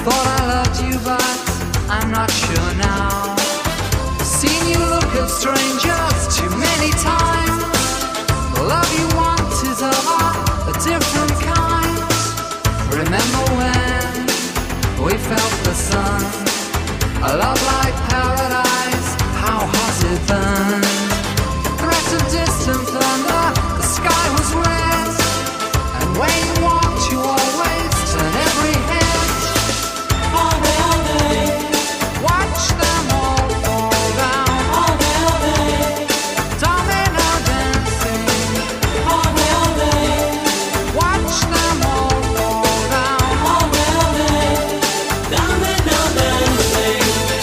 thought I loved you, but I'm not sure now. Seen you look at strangers too many times. The love you want is of a different kind. Remember when we felt the sun, a love like paradise, how hot it burned. Threat of distant thunder, the sky was red, and where you walked you always turn every head. All day, watch them all fall down. All day, domino dancing. All day, watch them all fall down. All day, domino dancing.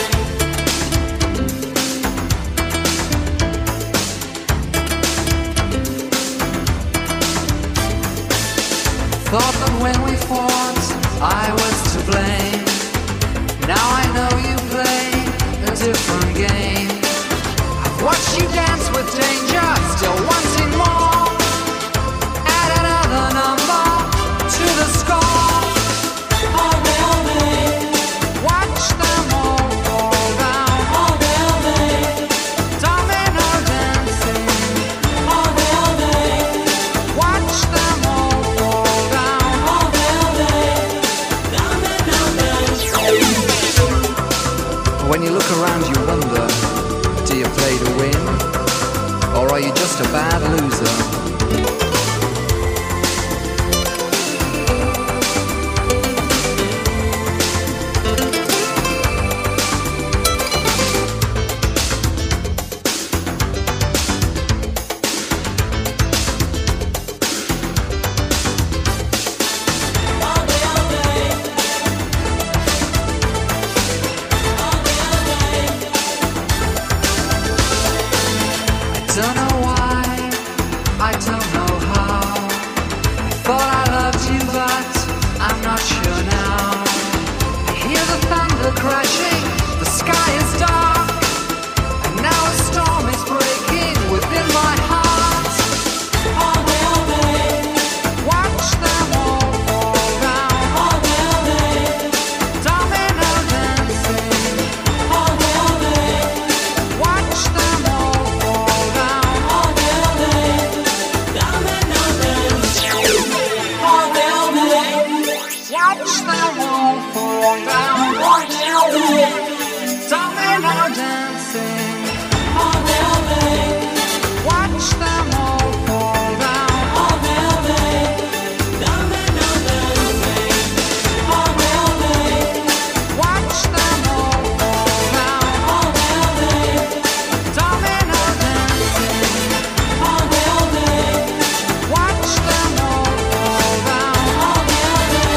Thought that when we fought, I was to blame. Now I know you play a different game. I've watched you dance with danger, still wanting more. Add another number to the score. All day, watch them all fall down. All day, domino dancing. All day, watch them all fall down. All day, domino dancing. When you look around you wonder, do you play to win? Or are you just a bad loser? Don't know why, I don't know how. I thought I loved you, but I'm not sure now. I hear the thunder crashing, the sky is dark, and now a storm is breaking within my heart. All day, watch them all fall down. All day, domino dancing. All day, watch them all fall down. All day, domino dancing. All day, watch them all fall down. All day, domino dancing. All day, watch them all fall down. All day, domino dancing. All day, watch them all fall down. All day, domino dancing. All day, watch them all fall down. All day.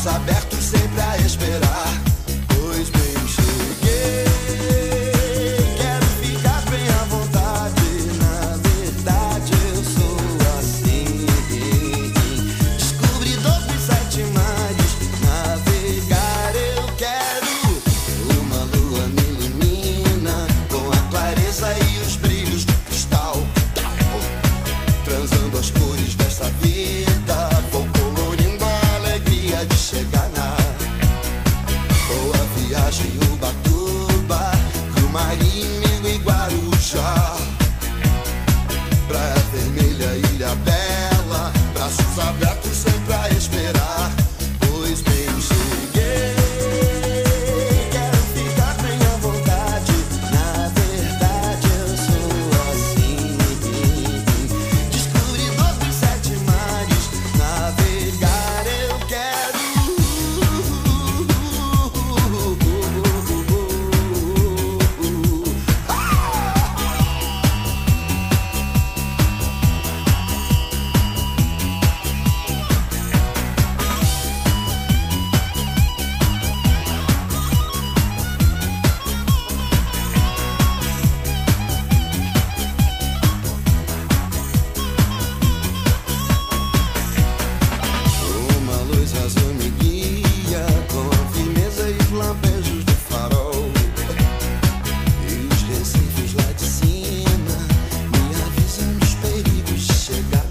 abertos sempre a esperar. Pois bem, cheguei, quero ficar bem à vontade. Na verdade eu sou assim, descobridor dos 7 mares. Navegar eu quero, uma lua me ilumina com a clareza e os brilhos do cristal, transando as cores dessa vida. Vou colorindo a alegria de chegar na boa viagem, Ubatuba, pro mar inimigo e Guarujá, Praia Vermelha, Ilha Bela, braços abertos sempre a esperar. Pois bem, cheguei, quero ficar bem à vontade. Na verdade eu sou assim, descobridor dos 7 mares. Navegar eu quero, uma luz azul me guia com a firmeza e os lampejos do farol. E os recifes lá de cima me avisam dos perigos de chegar.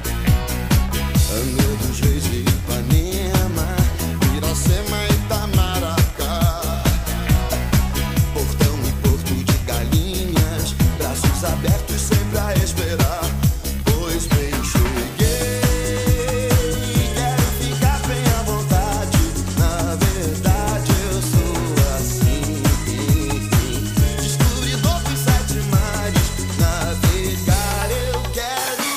Anel dos Reis e Ipanema, Iracema e Itamaracá, Portão e Porto de Galinhas, braços abertos sempre a esperar. Pois bem, cheguei, quero ficar bem à vontade. Na verdade eu sou assim, descobridor dos 7 mares. Navegar eu quero,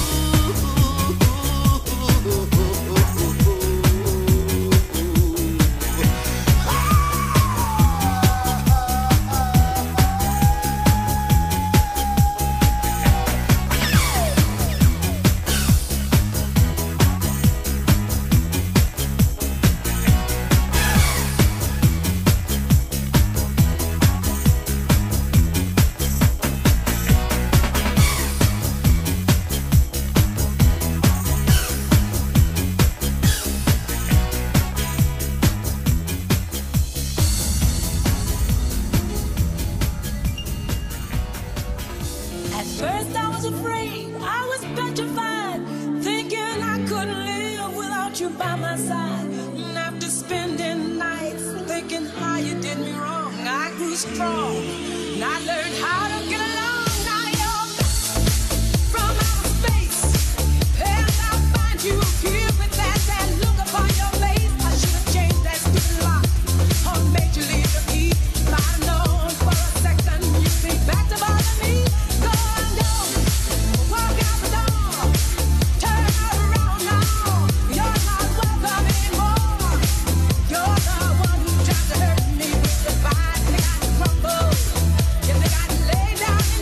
At first I was afraid, I was petrified, thinking I couldn't live without you by my side. And after spending nights thinking how you did me wrong, I grew strong and I learned how to get along. Now you're back from outer space, and I find you here with that look upon your face. I should have changed that stupid lock or made you leave the key. If I'd known for a second you'd be back to bother me. Go on down, walk out the door, turn around now. You're not welcome anymore. You're the one who tried to hurt me with the vine. They got crumbled. Yeah, they got laid down.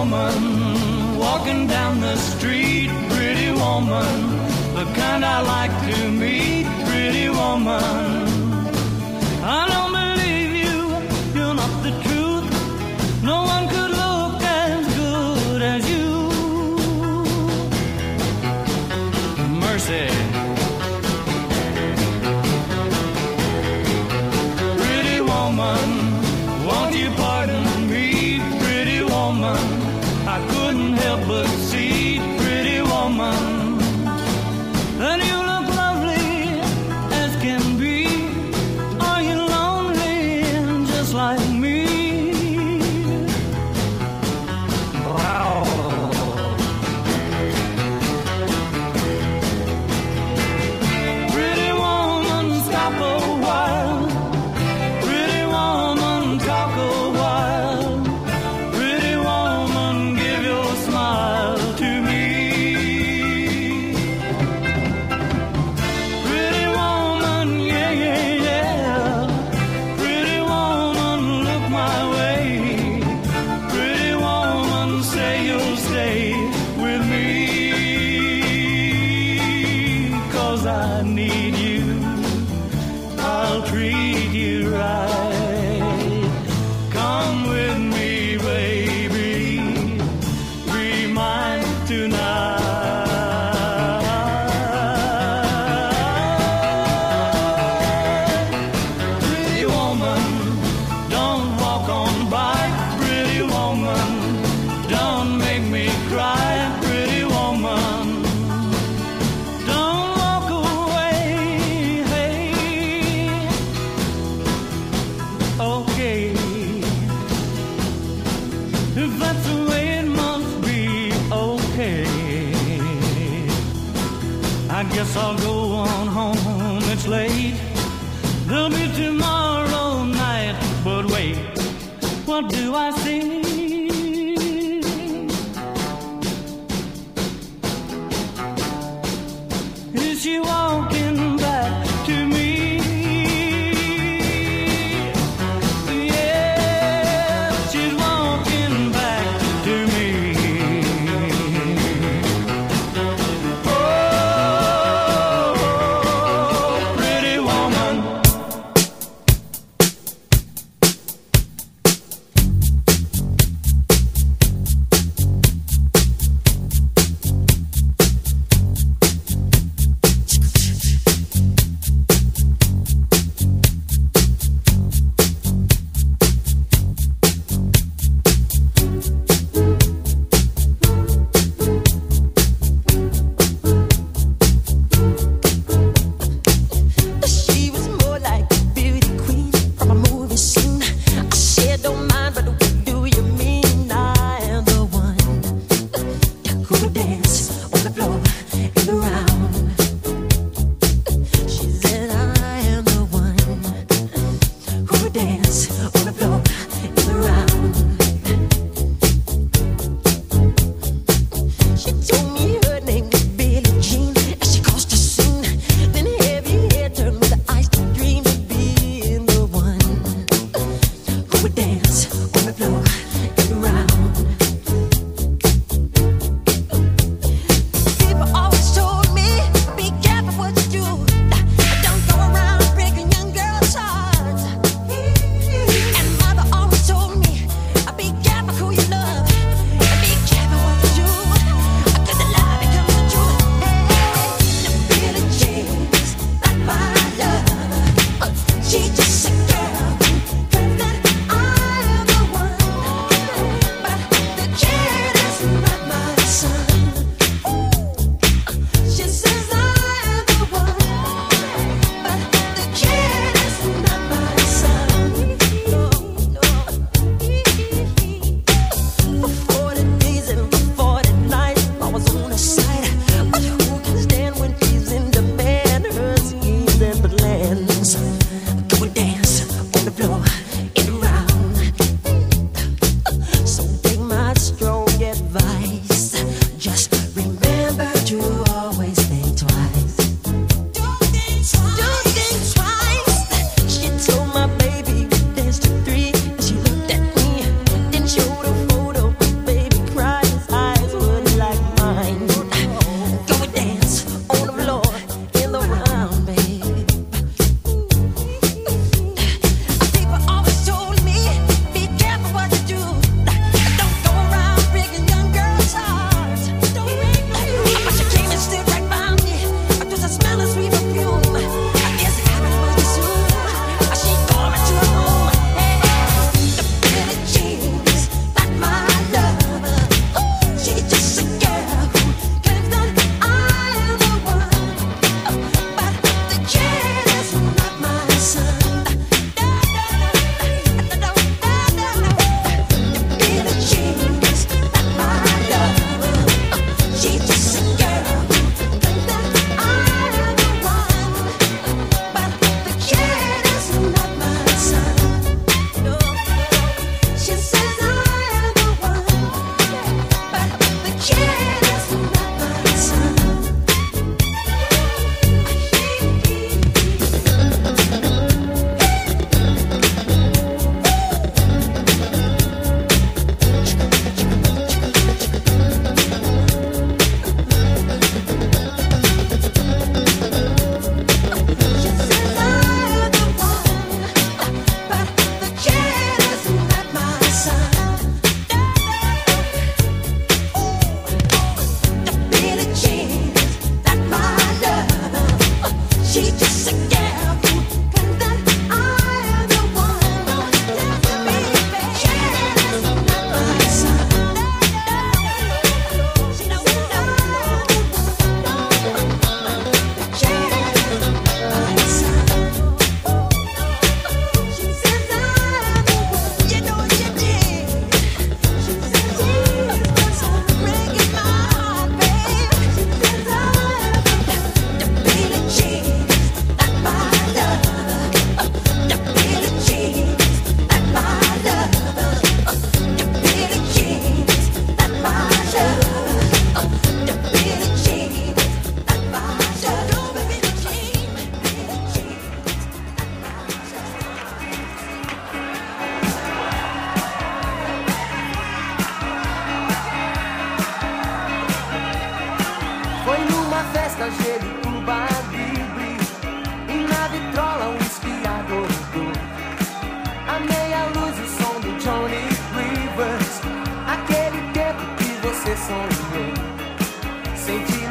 woman walking down the street, pretty woman, the kind I like to meet, pretty woman. I don't believe you, you're not the truth. No one could look as good as you. Mercy. Pretty woman, won't you pardon me, pretty woman? I couldn't help but see, pretty woman, that you look lovely as can be. Are you lonely just like me? Pretty woman, stop a while. Pretty woman, talk a while. Pretty woman, give your smile to me. Pretty woman, yeah, yeah, yeah. Pretty woman, look my way. Pretty woman, say you'll stay with me. 'Cause I need you, I'll treat you right. Come with me, baby, be mine tonight. Pretty woman, don't walk on by. Pretty woman, don't make me cry. Pretty woman, don't walk away. Hey, okay, if that's the way it must be, okay. I guess I'll go on home, it's late. There'll be tomorrow night, but wait, what do I see? Is she walking back to me? Yeah, she's walking back to me. Oh, pretty woman. She was more like a beauty queen from a movie scene. I said, don't mind, but what do you mean? I am the one who would dance on the floor and around. She said, I am the one who would dance on the floor and around. She told me her name was Billie Jean, and she caused a scene. Then heavy hair turned with the eyes to dream of being the one who would dance on the floor and around. People always told me, be careful what you do. Don't go around breaking young girls' hearts. And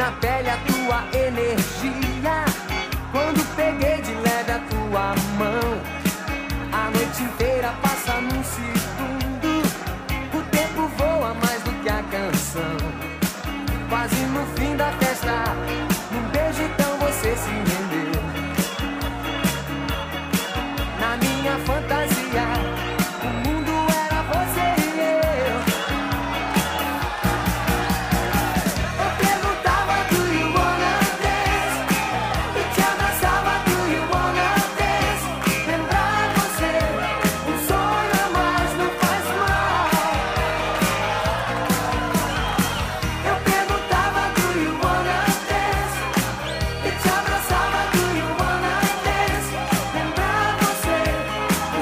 na pele a tua energia. Quando peguei de leve a tua mão, a noite inteira passa num segundo. O tempo voa mais do que a canção. Quase no fim da festa, num beijo então você se rendeu. Na minha fantasia, o mundo era você e eu. Eu perguntava, do you wanna dance? E te abraçava, do you wanna dance? Lembrar você, um sonho a mais não faz mal. Eu perguntava, do you wanna dance? E te abraçava, do you wanna dance? Lembrar você, um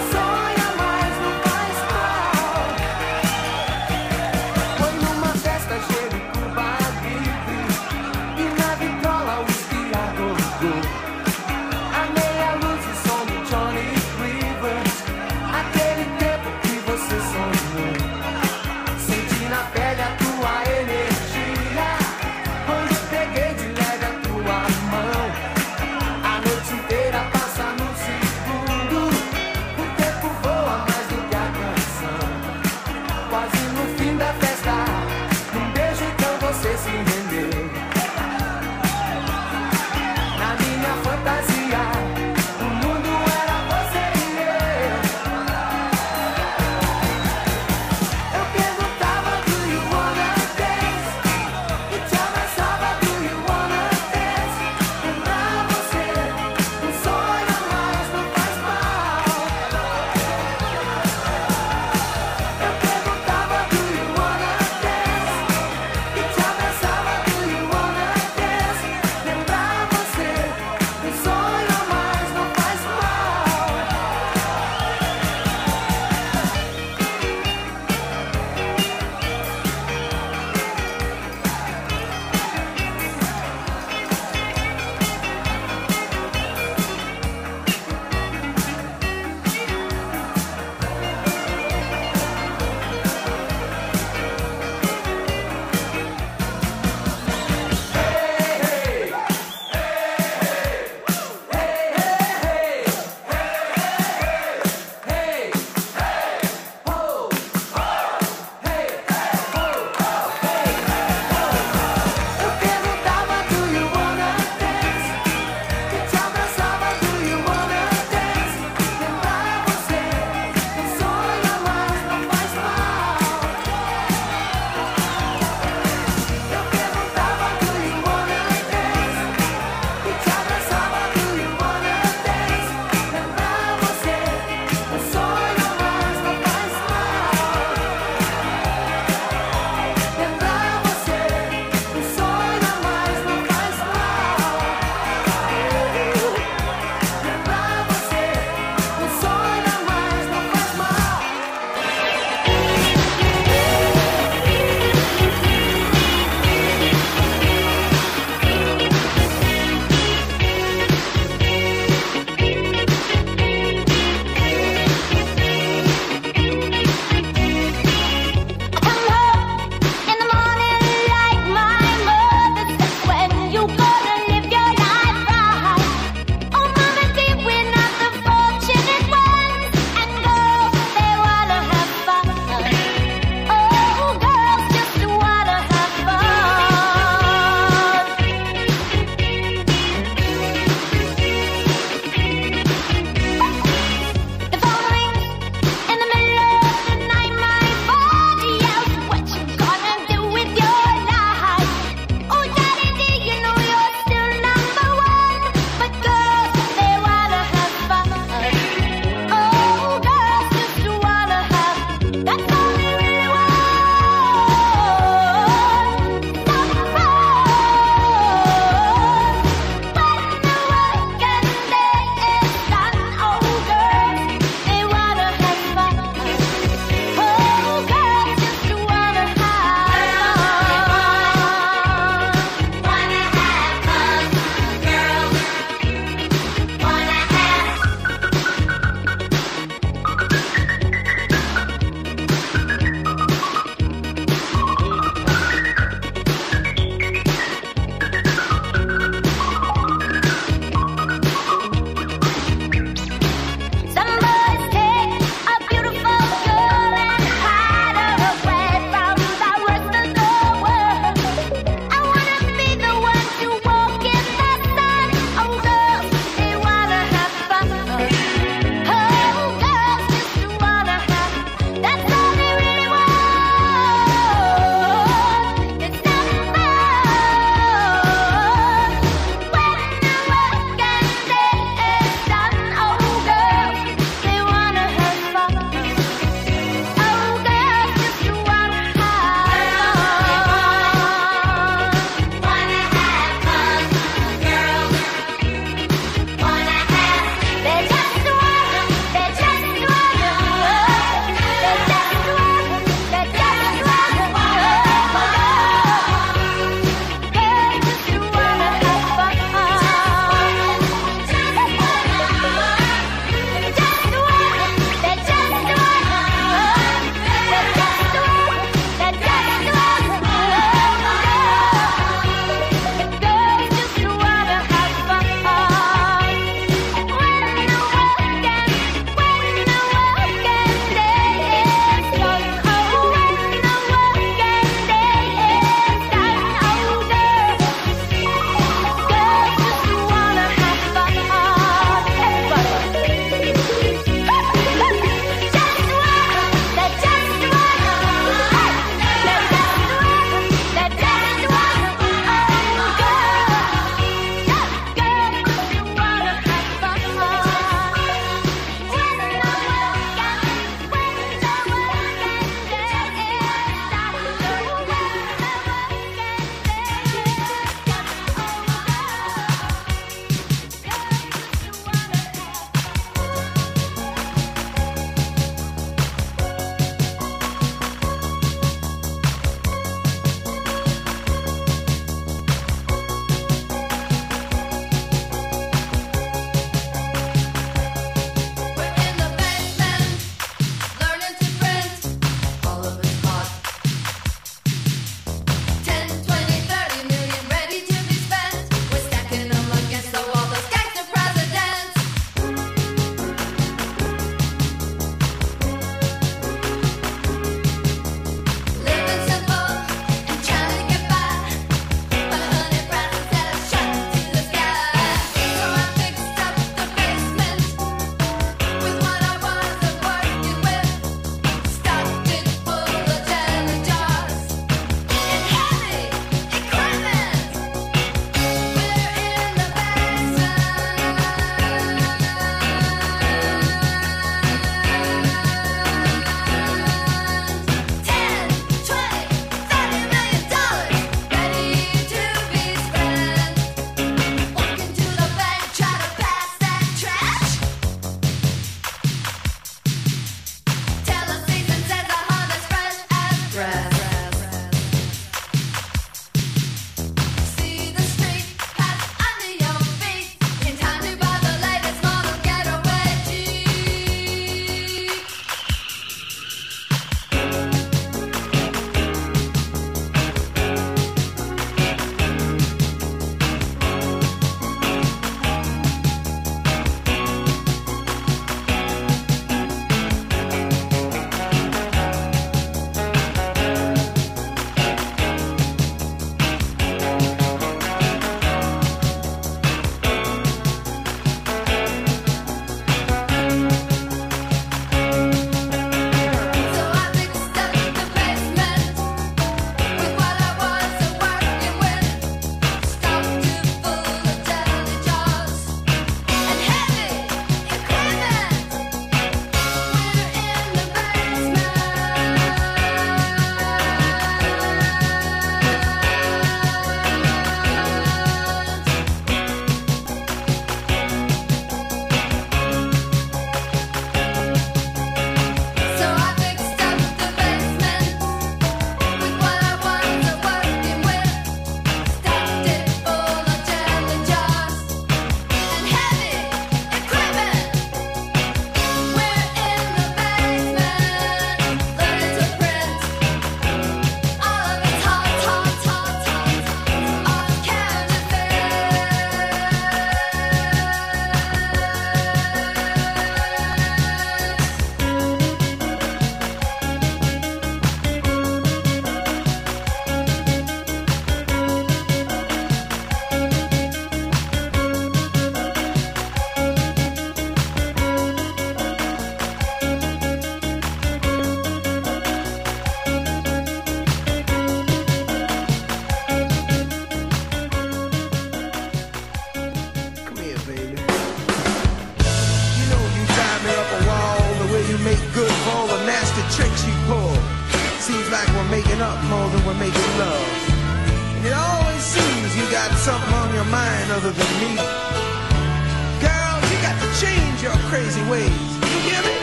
tricks you pull. Seems like we're making up more than we're making love. And it always seems you got something on your mind other than me. Girl, you got to change your crazy ways. You hear me?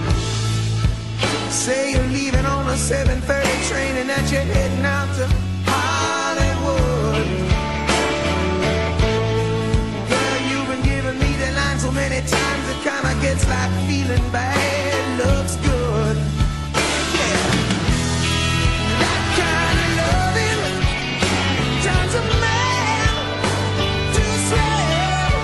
Say you're leaving on a 7:30 train and that you're heading out to Hollywood. Girl, you've been giving me the line so many times it kinda gets like feeling bad looks good. Yeah. That kind of loving turns a man to a slave.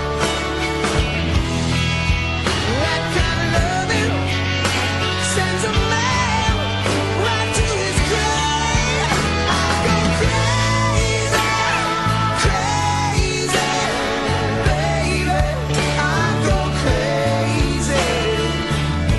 That kind of loving sends a man right to his grave. I go crazy, crazy, baby. I go crazy.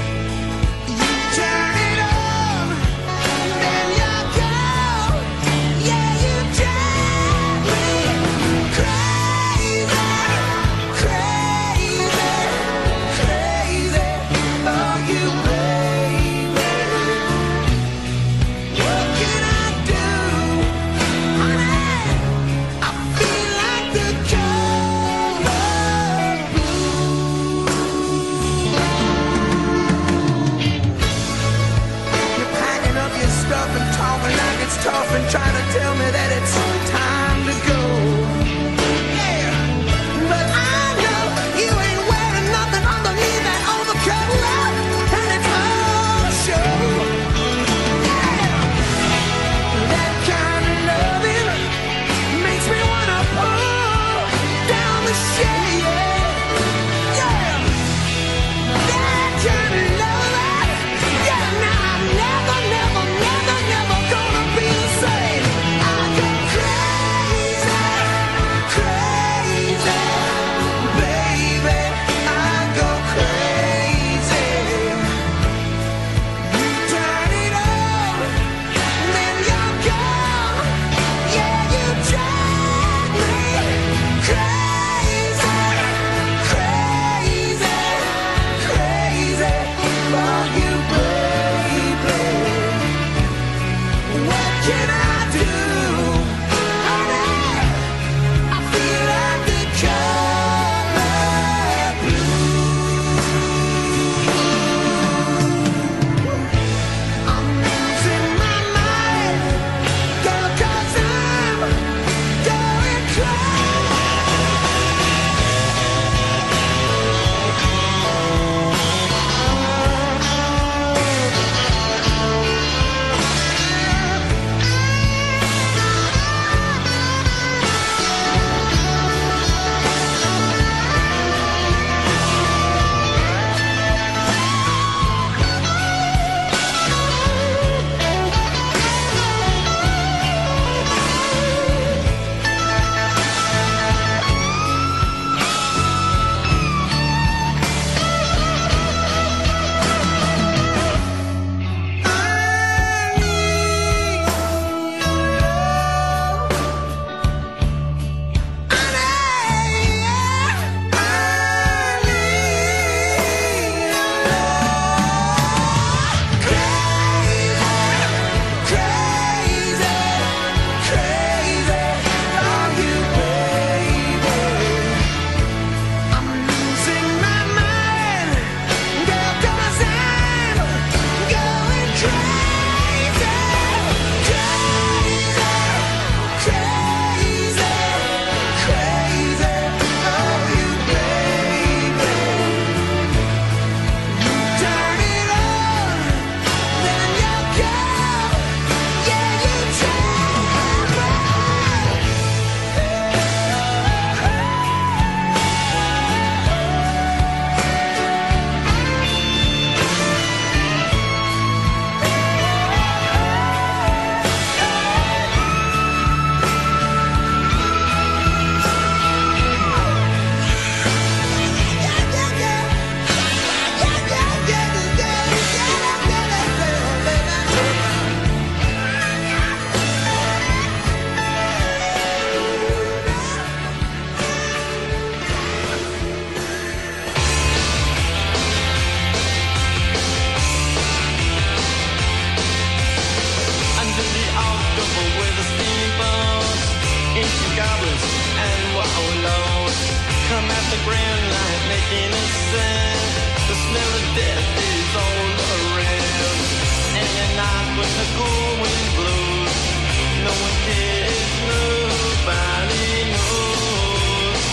I'm at the grand line making a sound. The smell of death is all around. And at night when the cold wind blows, no one cares, nobody knows.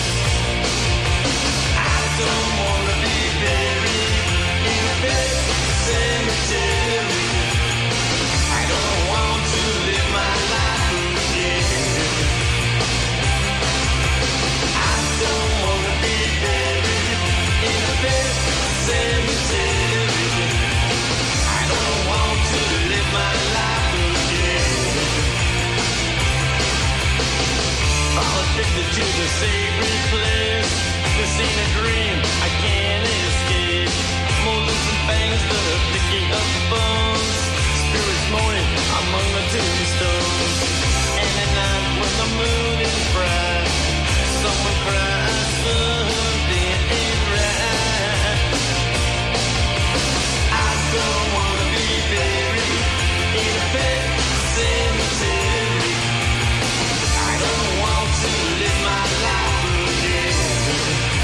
I don't wanna be buried in a big cemetery. I don't want to live my life again. I don't wanna be buried in a big cemetery. I don't want to live my life again. I'm addicted to the sacred place. This ain't a dream, I can't escape. Molars and fangs that are picking up bones. Spirits moaning among the tombstones. And at night when the moon is bright, someone cries, something ain't right. I don't wanna be buried in a pet cemetery. I don't want to live my life again.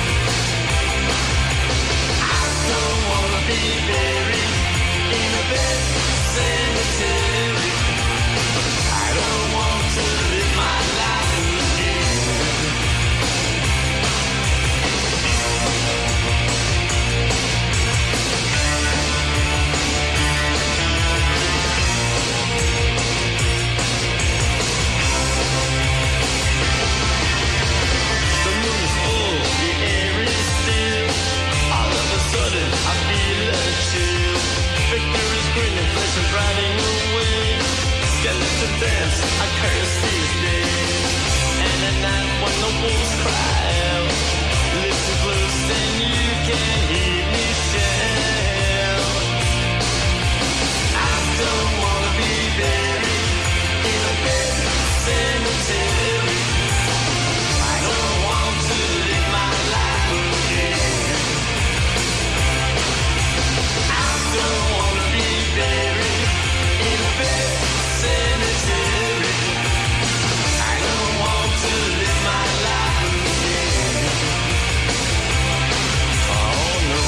I don't wanna be buried in a pet cemetery. I don't want to live my life again. The moon is full, the air is still. All of a sudden, I feel a chill. Victor is grinning, flesh is riding away. Skeleton dance, I curse these days. And at night when the wolves cry out, listen close and you can hear me shout. I don't wanna be buried in a big cemetery. I don't want to live my life again. I don't wanna be buried in a big cemetery. I don't want to live my life again. Oh no.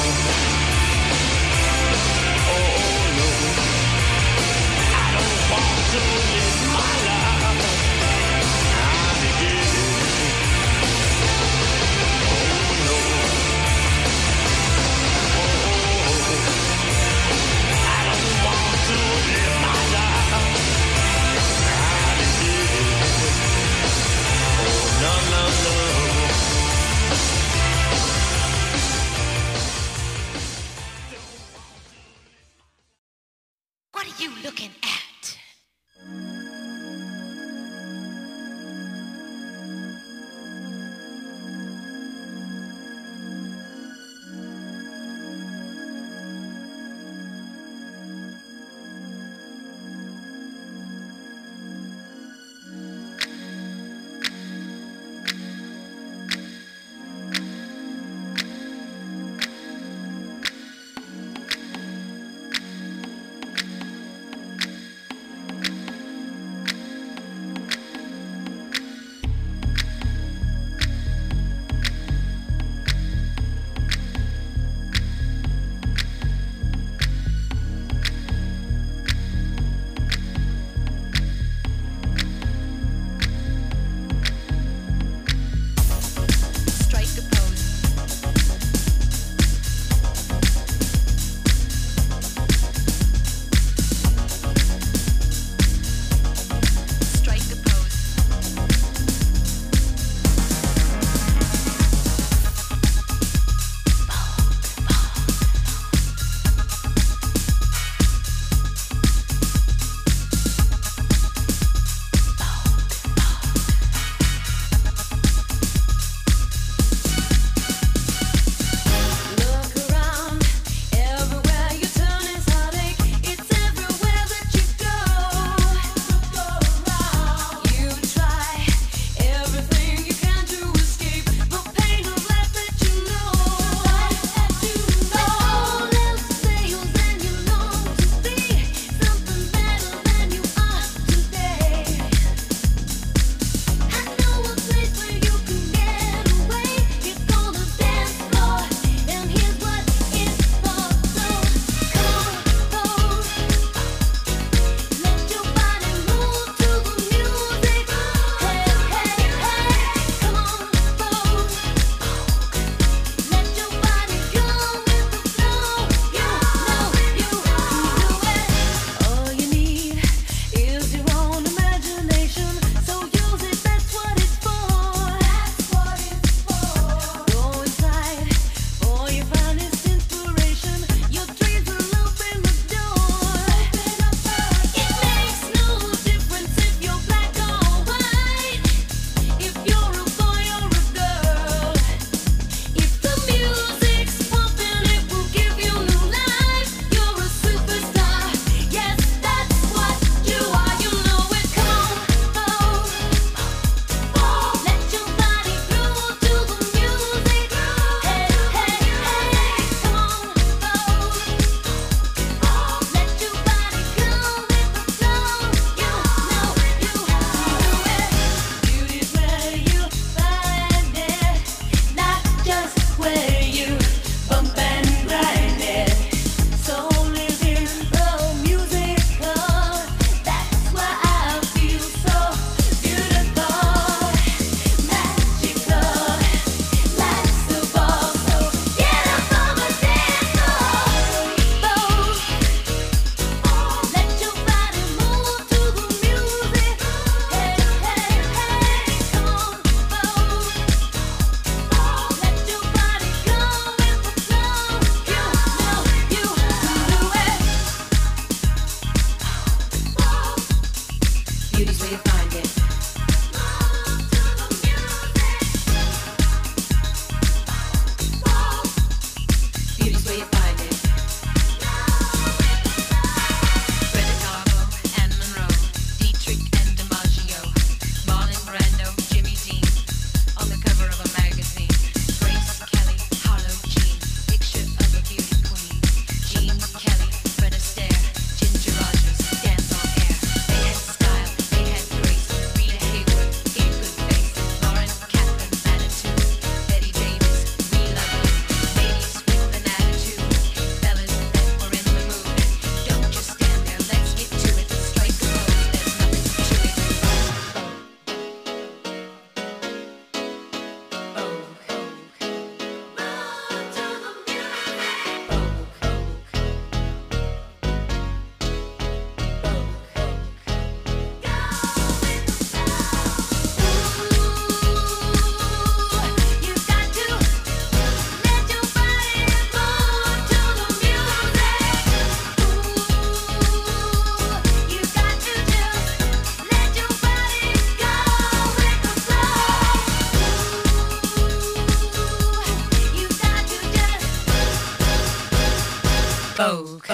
Oh no. I don't want to live my life again. Oh no. I don't want to live my life again. Oh no, no, no. What are you looking at?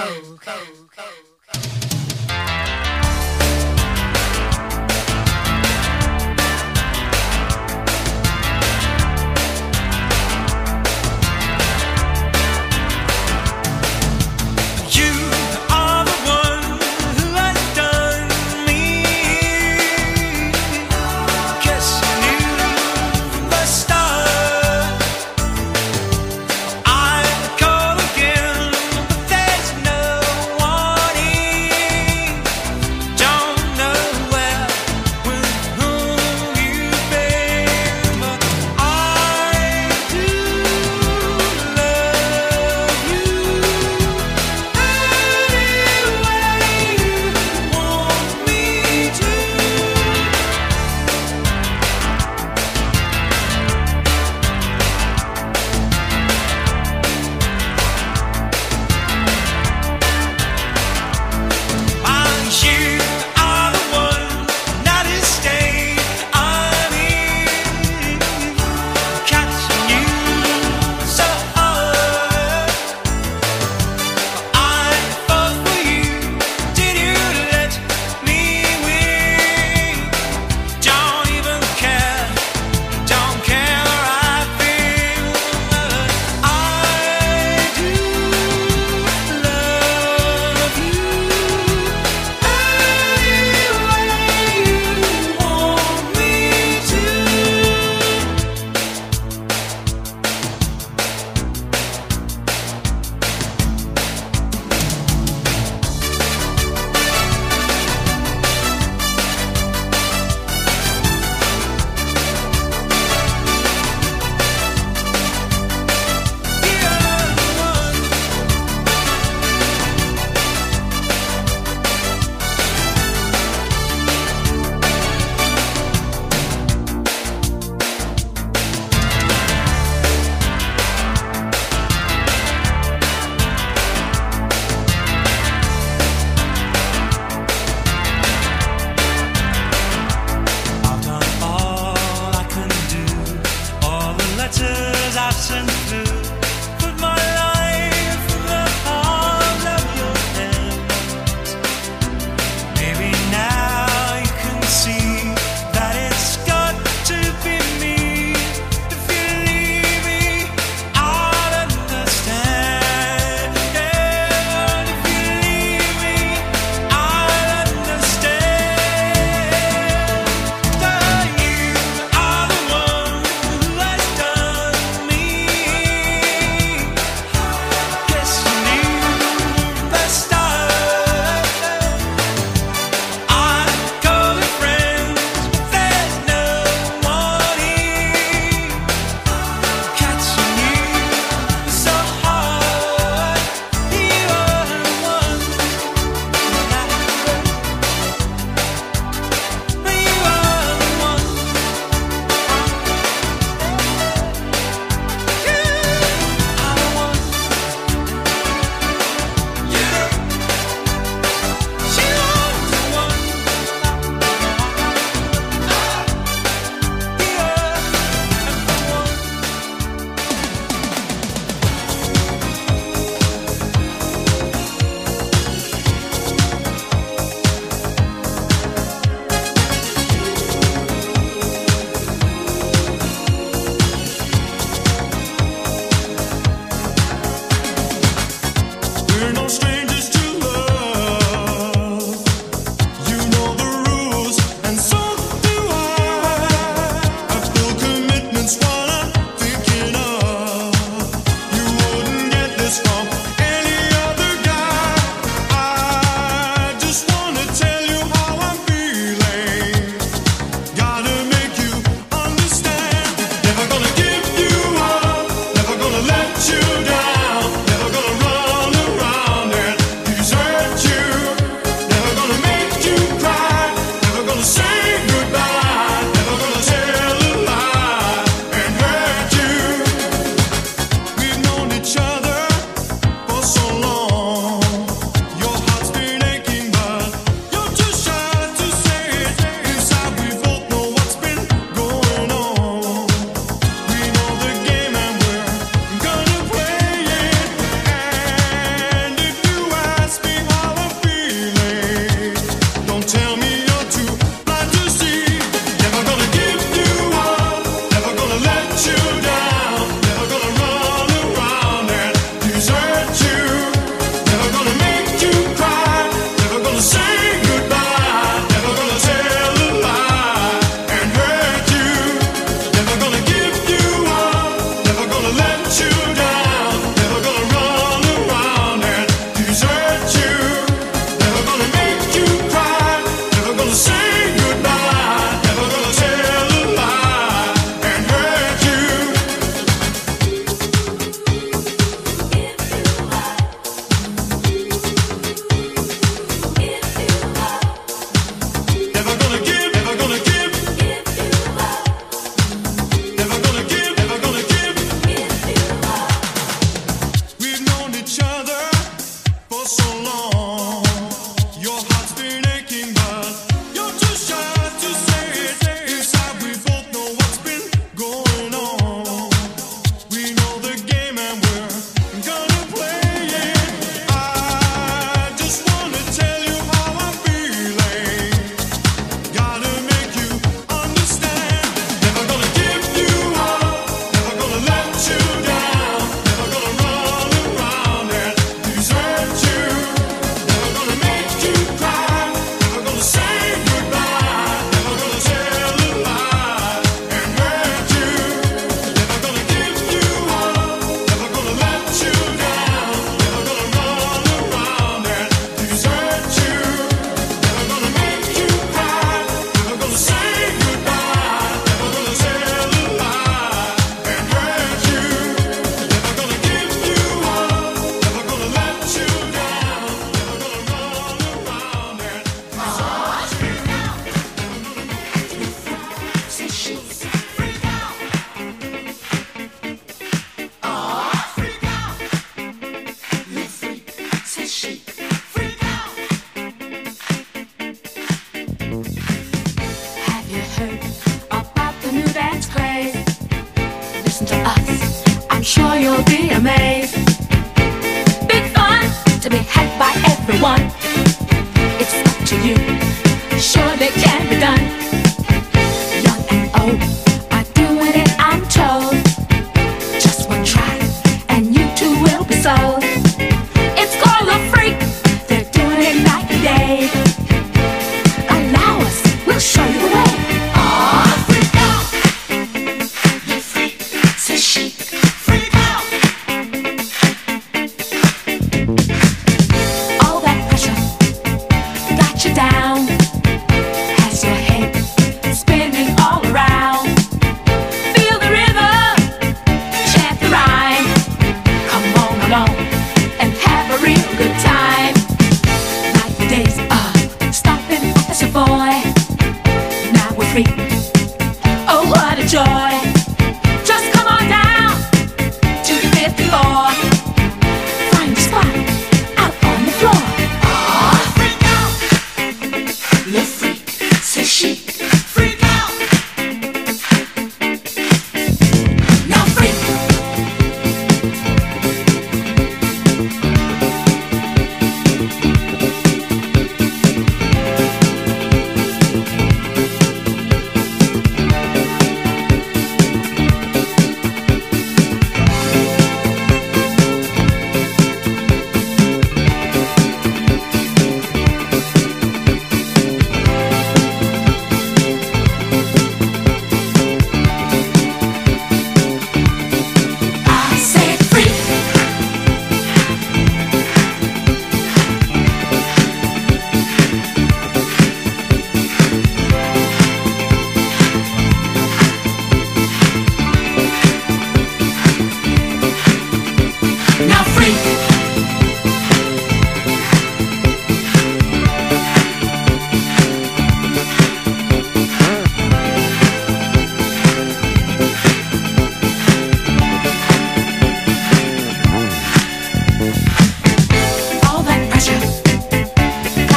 I call again, but there's no one here.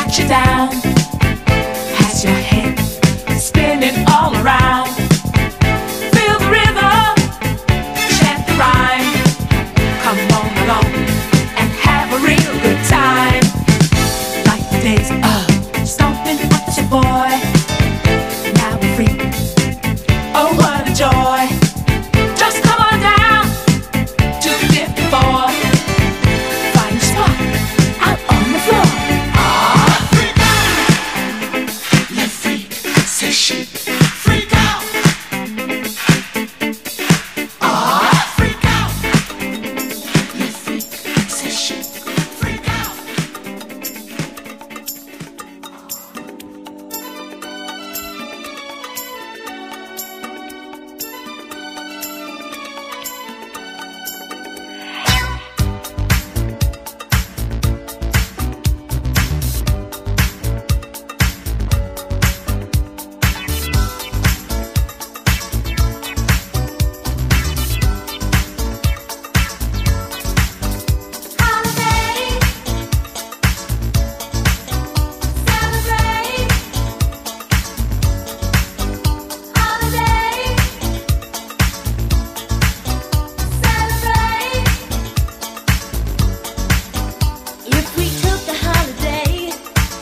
you down, has your head spinning all around. Feel the rhythm, chant the rhyme. Come on along and have a real good time. Like the days of stomping at your boy. Now we're free. Oh, what a joy. Just come on down to the 54. Find your spot out on the floor. Freak out, let freak, say she. Freak out, freak out, let freak, say she. Freak out. If we took a holiday,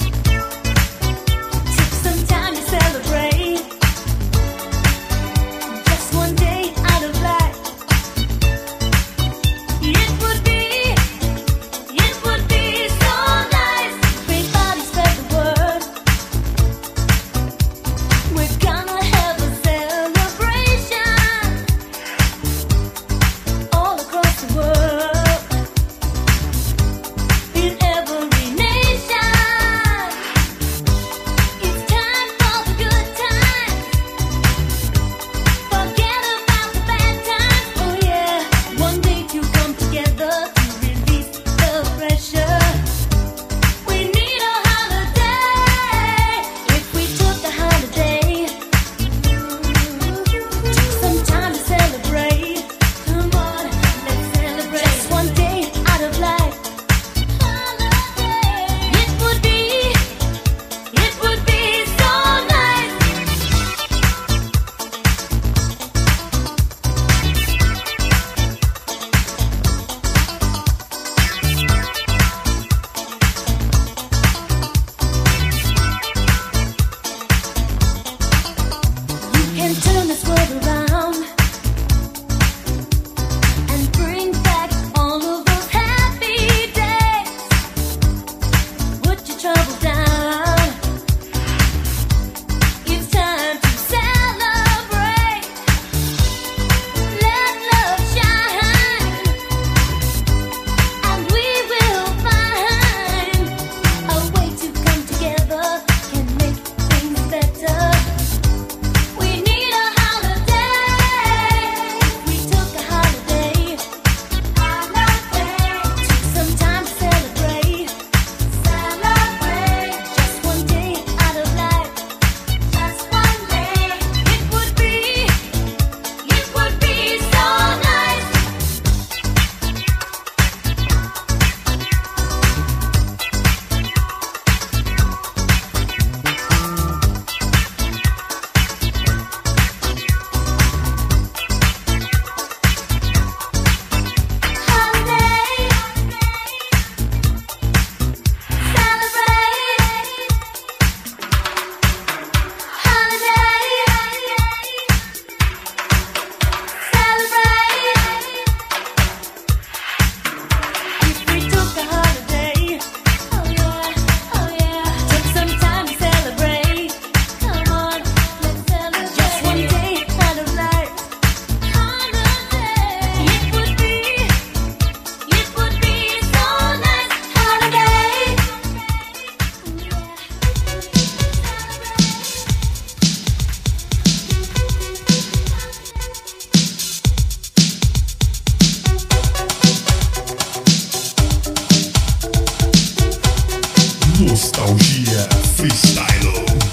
took some time to celebrate, just one day out of life, it would be so nice. Everybody spread the word. We're gonna have a celebration all across the world. In every nation, it's time for the good times. Forget about the bad times. Oh yeah, one day to come together to release the pressure. We need a holiday. If we took a holiday, took some time to celebrate. Come on, let's celebrate. Just one day out of life. It would be so nice. You can turn this world around and bring back all of those happy days. Put your troubles down. It's time to celebrate. Let love shine, and we will find a way to come together and make things better. We need a holiday. We took a holiday. Took some time to celebrate. Just one day out of life. Just one day. It would be so nice. Holiday, celebrate. If we took a holiday, oh yeah, took some time to celebrate. Come on, let's celebrate. Just one day out of life. It would be so nice. Holiday. Nostalgia Freestyle.